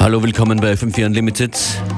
Hallo, willkommen bei FM4 Unlimited.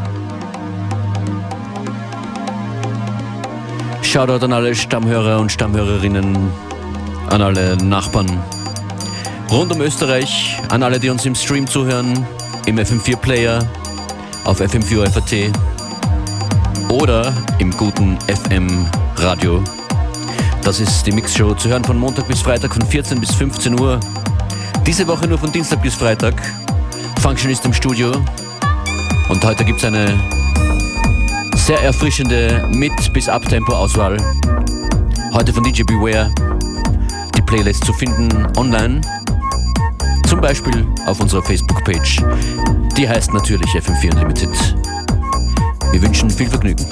Shoutout an alle Stammhörer und Stammhörerinnen, an alle Nachbarn rund um Österreich, an alle, die uns im Stream zuhören, im FM4 Player, auf FM4 FAT oder im guten FM Radio. Das ist die Mixshow, zu hören von Montag bis Freitag von 14 bis 15 Uhr. Diese Woche nur von Dienstag bis Freitag. Functionist im Studio. Und heute gibt es eine sehr erfrischende Mit- bis Abtempo-Auswahl. Heute von DJ Beware. Die Playlist zu finden online. Zum Beispiel auf unserer Facebook-Page. Die heißt natürlich FM4 Unlimited. Wir wünschen viel Vergnügen.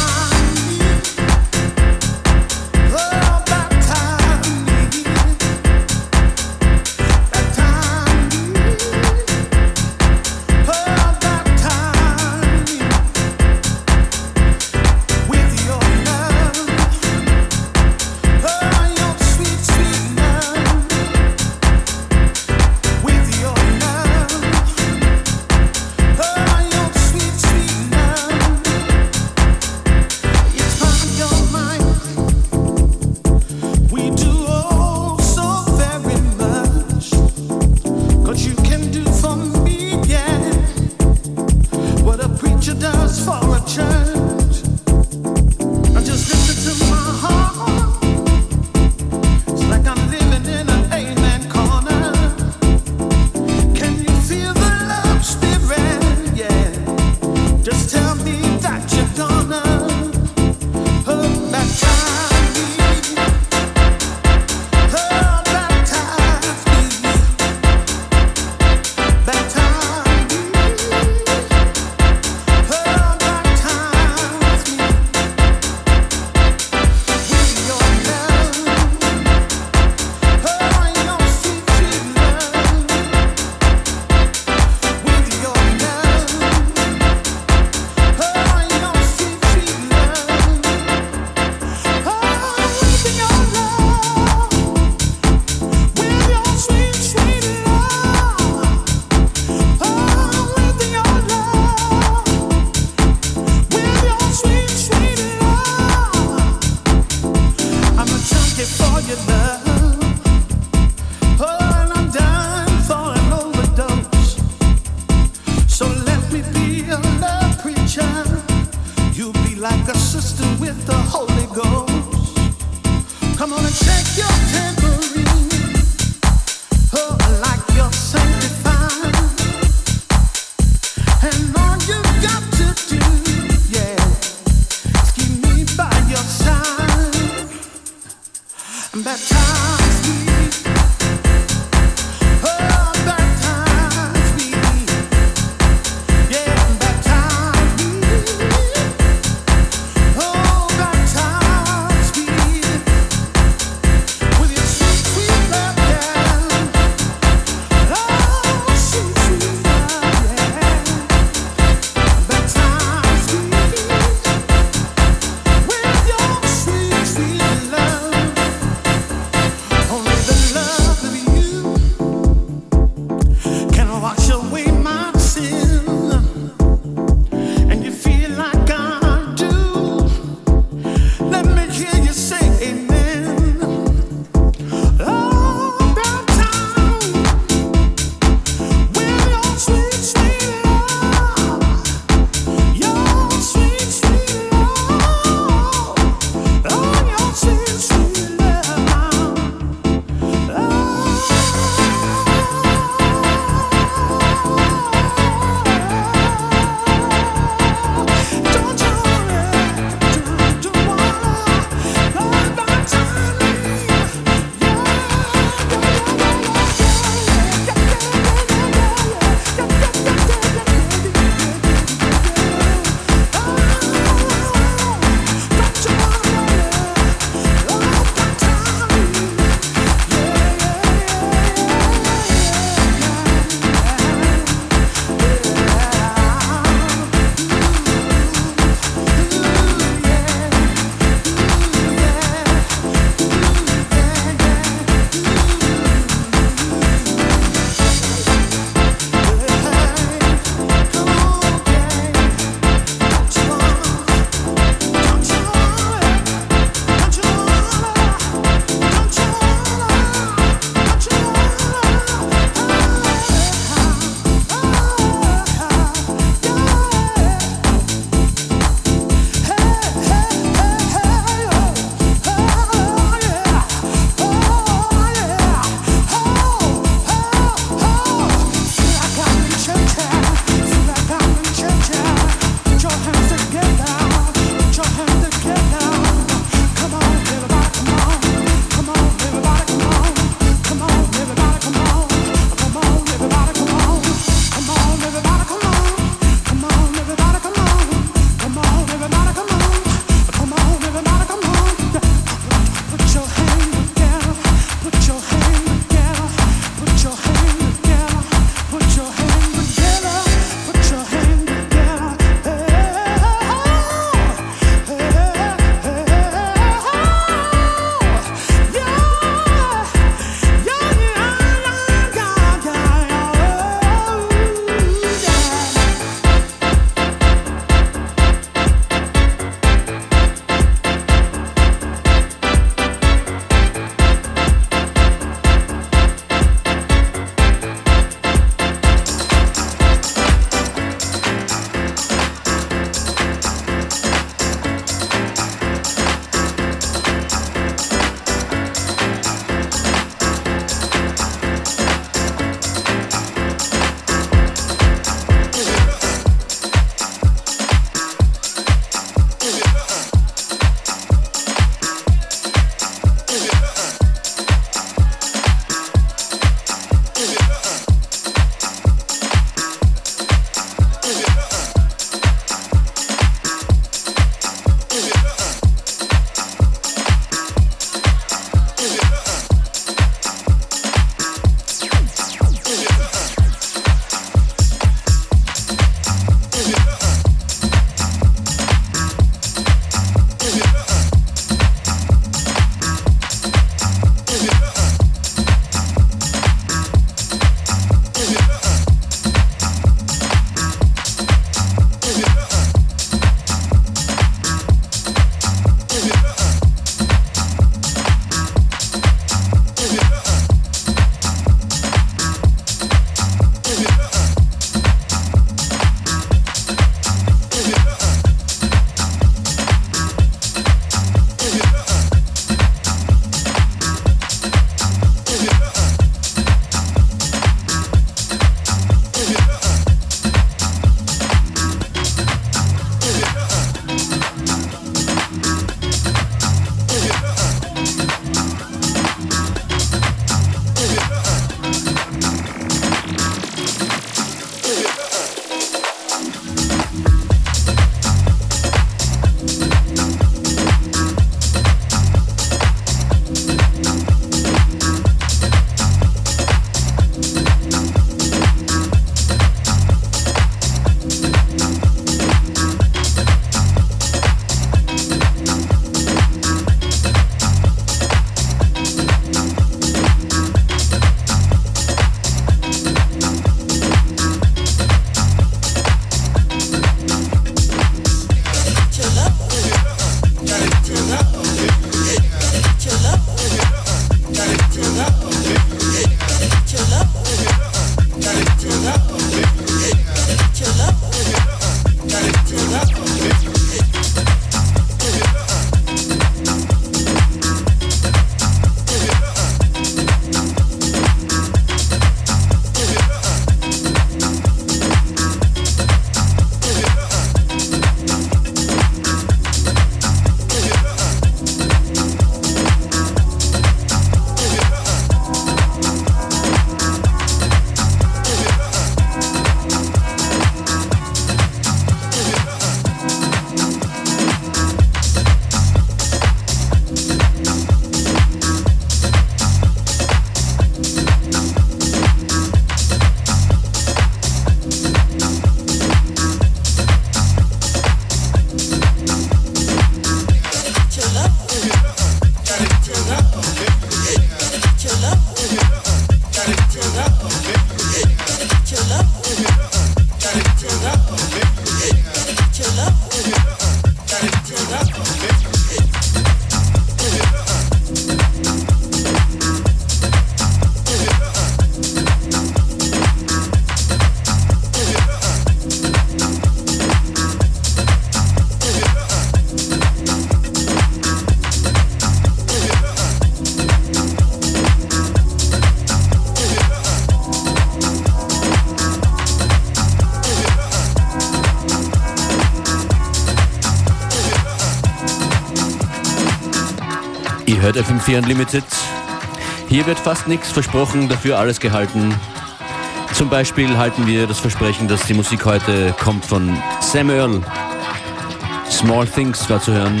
Ihr hört FM4 Unlimited. Hier wird fast nichts versprochen, dafür alles gehalten. Zum Beispiel halten wir das Versprechen, dass die Musik heute kommt von Sam Earl. Small Things war zu hören.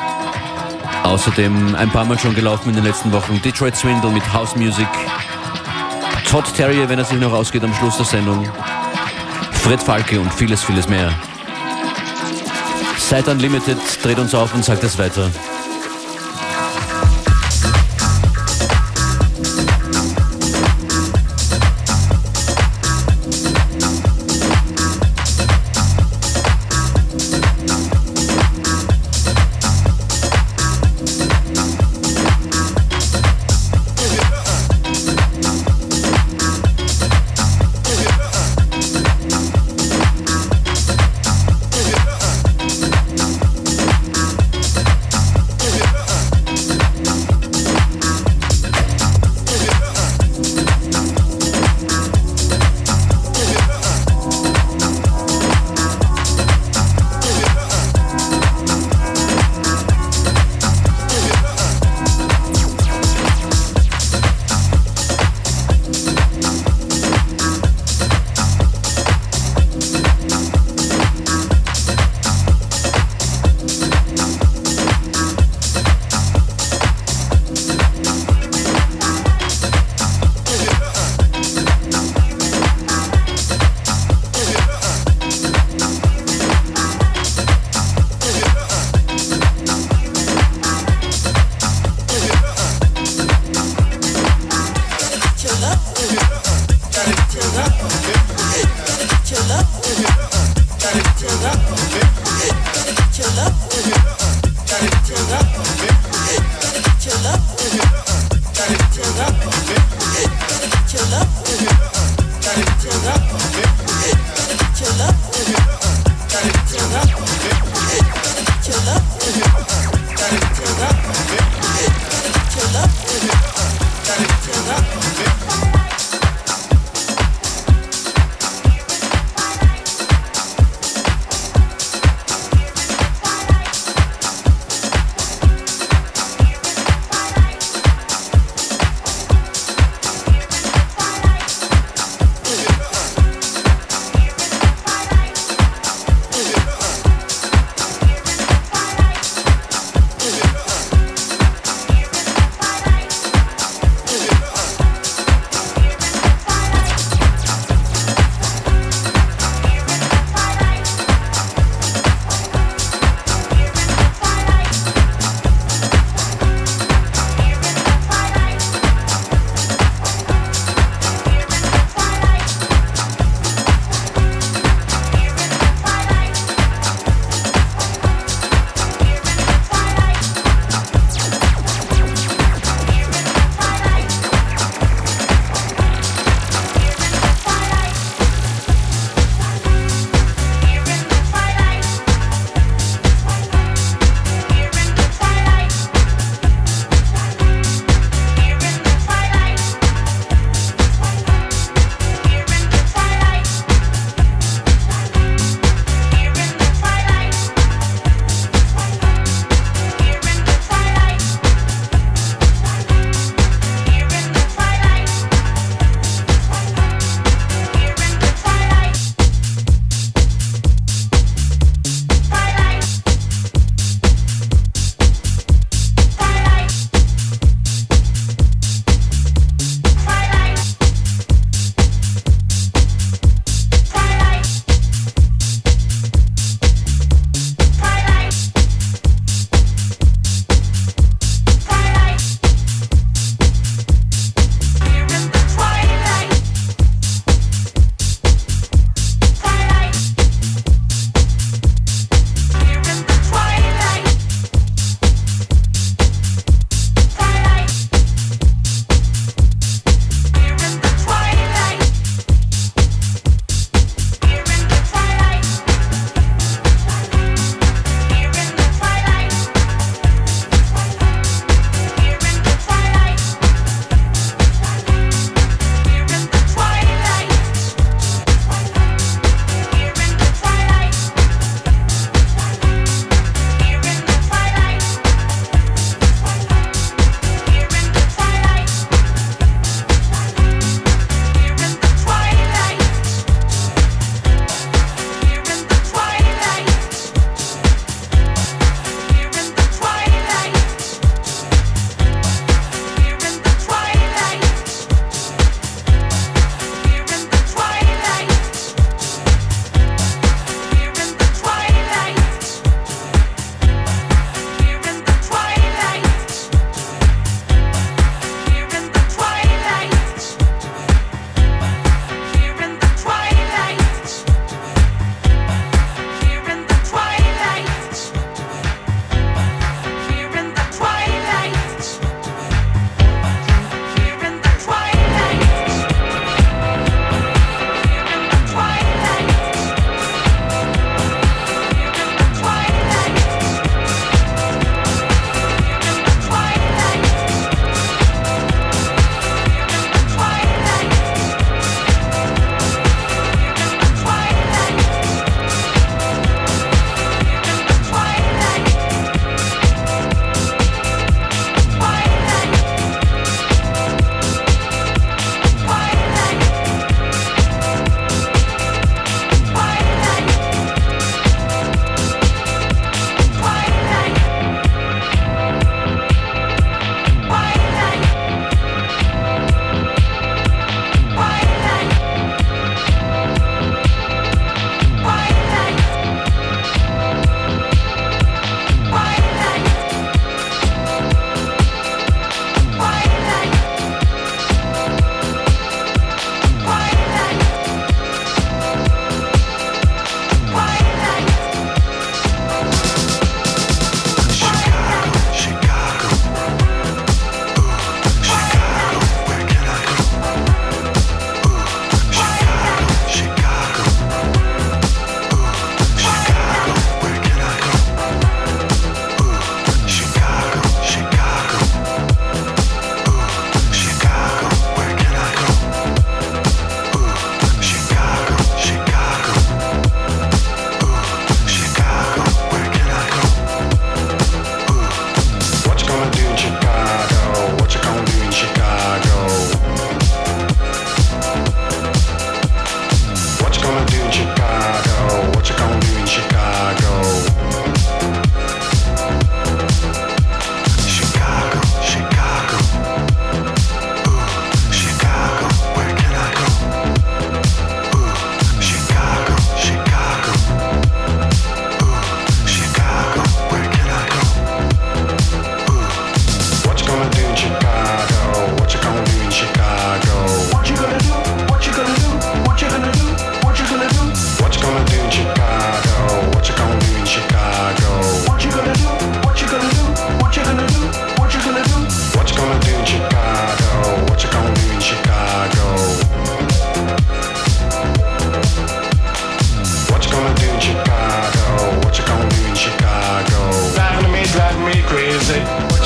Außerdem ein paar Mal schon gelaufen in den letzten Wochen Detroit Swindle mit House Music. Todd Terrier, wenn er sich noch ausgeht am Schluss der Sendung. Fred Falke und vieles, vieles mehr. Seid Unlimited, dreht uns auf und sagt es weiter.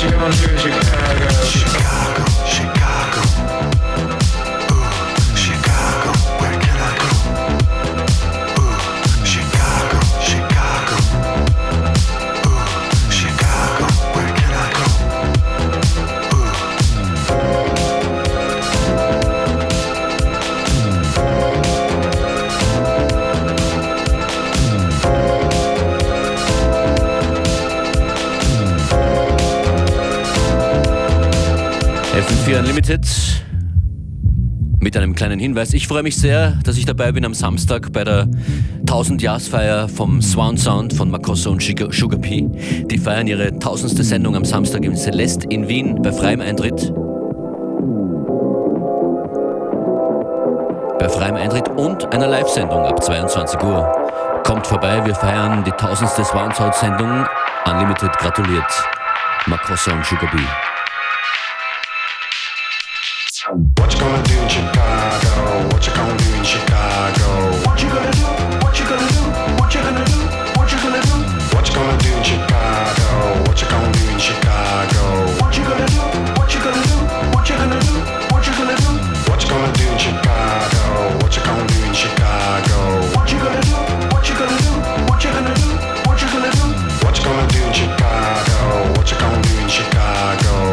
you gonna do in Chicago? Chicago, Chicago. Ooh, Chicago, where can I go? Ooh, Chicago, Chicago. Ooh, Chicago, where can I go? FM4 Unlimited mit einem kleinen Hinweis. Ich freue mich sehr, dass ich dabei bin am Samstag bei der 1000-Jahresfeier vom Swan Sound von Makossa und Sugar P. Die feiern ihre 1000. Sendung am Samstag im Celeste in Wien bei freiem Eintritt. Bei freiem Eintritt und einer Live-Sendung ab 22 Uhr. Kommt vorbei, wir feiern die 1000. Swan Sound Sendung. Unlimited gratuliert. Makossa und Sugar P. What you gonna do in Chicago? What you gonna do in Chicago? What you gonna do? What you gonna do? What you gonna do? What you gonna do? What you gonna do in Chicago? What you gonna do in Chicago? What you gonna do? What you gonna do? What you gonna do? What you gonna do? What you gonna do in Chicago? What you gonna do in Chicago? What you gonna do? What you gonna do? What you gonna do? What you gonna do? What you gonna do in Chicago? What you gonna do in Chicago?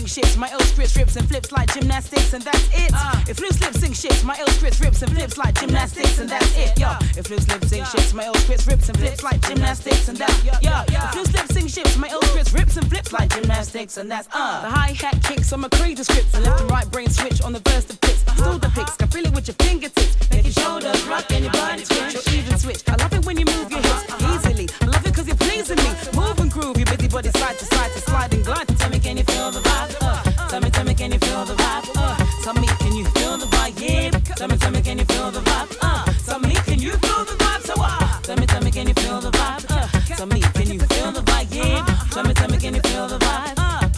sink ships, my ill scripts rips and flips like gymnastics, and that's it. If loose lip sync ships, my ill scripts rips and flips like gymnastics, and that's it. Yo, if loose lip sync ships, my ill scripts rips and flips like gymnastics, and that's yo. If loose lip sync ships, my ill scripts rips and flips like gymnastics, and that's the hi-hat kicks on my crazy scripts, and left and right brain switch on the verse of pits. Still the picks, can feel it with your fingertips, make your shoulders rock and your body twitch or even switch. I love it when you move your hips easily. I love it 'cause you're pleasing me. Move and groove, your busy body side to slide and glide. Tell me, can you feel the vibe? Tell me, can you feel the vibe? Tell me, can you feel the vibe? Yeah. Tell me, can you feel the vibe? Tell me, can you feel the vibe? So tell me, can you feel the vibe? Tell me, can you feel the vibe? Yeah. Tell me, can you feel the vibe?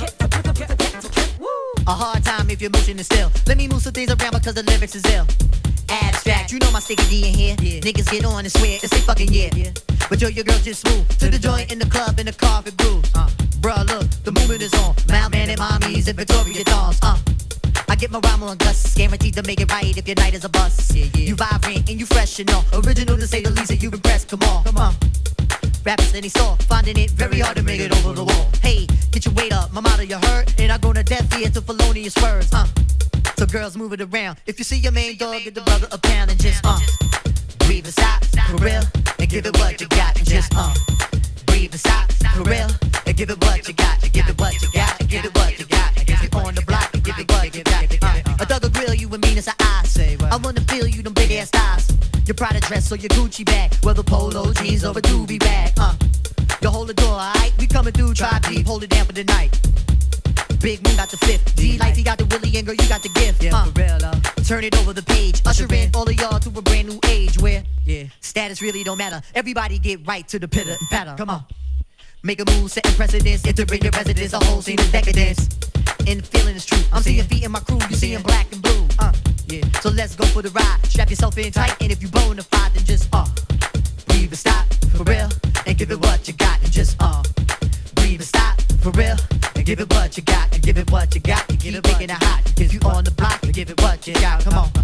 A hard time if your motion is still. Let me move some things around because the lyrics is ill. Abstract, you know my sticky D in here. Yeah. Niggas get on and swear it's they fucking yeah. But yo, your girl just smooth to the joint in the club in the carpet grooves. Bruh, look, the movement is on. Loud man and mommies and Victoria dolls. I get my rhyme on gusts, guaranteed to make it right if your night is a bust. You vibrant and you fresh and all. Original to say the least that you impressed. Come on. Rappers that he saw, finding it very hard to make it over the wall. Hey, get your weight up, my motto you heard, and I go to death ear to felonious words. So girls move it around. If you see your main dog, get the brother a pound and just breathe and stop for real, and give it what you got, and just breathe and stop for real, and give it what you got, and give it what you got, and give it what you got, and if you're on the block, and give it what you got. A thug will grill you and mean as I say. I wanna feel you them big ass thighs. Your Prada dress or your Gucci bag, whether polo jeans or a doobie bag. You hold the door, alright? We coming through, try deep, hold it down for the night. Big Moon got the fifth, D-Life, he got the Willie, and girl, you got the gift. Yeah, for real, turn it over the page, usher in all of y'all to a brand new age where status really don't matter. Everybody get right to the pitter and patter. Come on. Make a move, setting precedence, entering your residence, a whole scene of decadence. And the feeling is true. I'm seeing feet in my crew, you seeing black and blue. So let's go for the ride. Strap yourself in tight, and if you bona fide, then just breathe and stop for real, and give it what you got, and just breathe and stop for real, and give it what you got, and give it what you got, and keep making it hot. If you on the block, and give it what you got. Come on,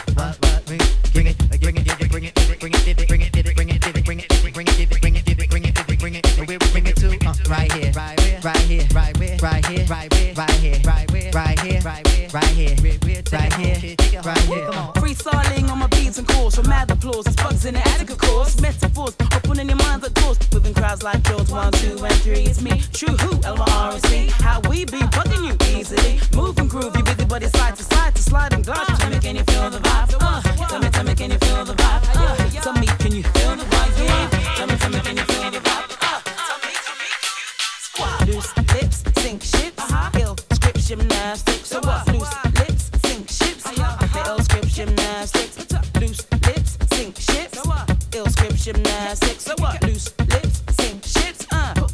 bring it, bring it, bring it, bring it, bring it, bring it, bring it, bring it, bring it, bring it, bring it, bring it, bring it, where we bring it to? Right here, right here, right here, right here, right here, right here, right here, right here, right here, right here, right here, right here. Come on. Freestyling on my beats and calls from mad applause. It's bugs in the attic, of course. Metaphors opening your minds at doors. Moving crowds like yours. 1, 2, and 3. It's me, True Who, LYRC. How we be bugging you easily. Move and groove, you busy body side to slide and glide. Tell me, can you feel the vibe? Tell me, can you feel the vibe? Tell me, can you feel the vibe? Yeah. Tell me, can you feel the vibe? Loose lips, sink ships. Ill script gymnastics. So what? Loose lips, sink ships. Ill script gymnastics. Loose lips, sink ships. Ill script gymnastics. So what? Loose lips, sink ships.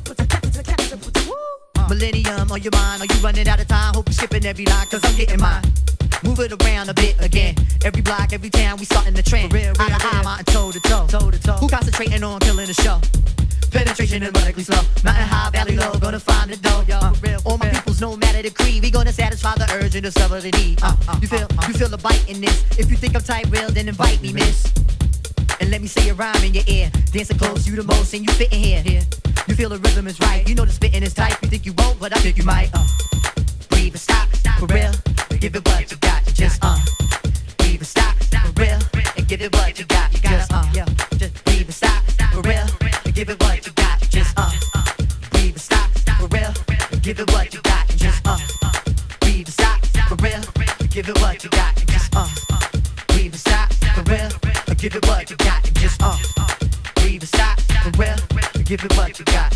Millennium on your mind, are you running out of time? Hope you're skipping every line, cause I'm getting mine. Move it around a bit again. Every block, every town, we starting the trend. Eye to eye, mountain toe to toe. Who concentrating on killing the show? Penetration and radically slow. Mountain high, valley low, gonna find the dough, yo. All my peoples, no matter the creed, we gonna satisfy the urge and discover the need. You feel the bite in this. If you think I'm tight real, then invite me, miss. And let me say a rhyme in your ear. Dancing close, you the most, and you fit in here. You feel the rhythm is right. You know the spitting is tight. You think you won't, but I think you might. Breathe and stop for real. Give it what you got. Just breathe and stop for real. And give it what you got. Just breathe and stop for real. And give it what you got. Just breathe and stop for real. And give it what you got. Just breathe and stop for real. And give it what you got. Just breathe and stop for real. And give it what you got. Just breathe and stop for real. And give it what you got.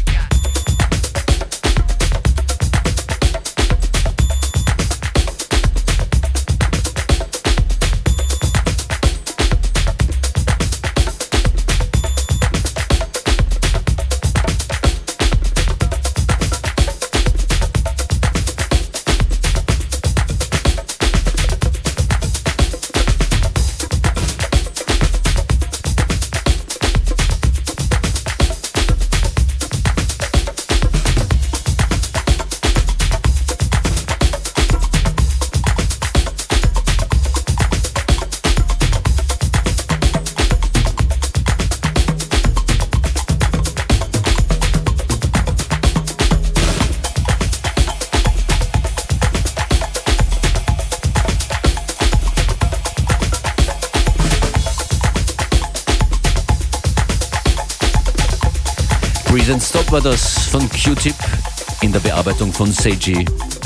Breathe and Stop war das von Q-Tip in der Bearbeitung von Seiji.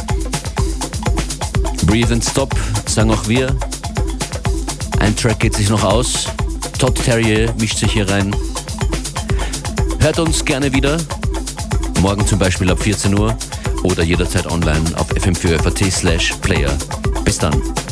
Breathe and Stop, sagen auch wir. Ein Track geht sich noch aus. Todd Terje mischt sich hier rein. Hört uns gerne wieder. Morgen zum Beispiel ab 14 Uhr oder jederzeit online auf fm4.at/player. Bis dann.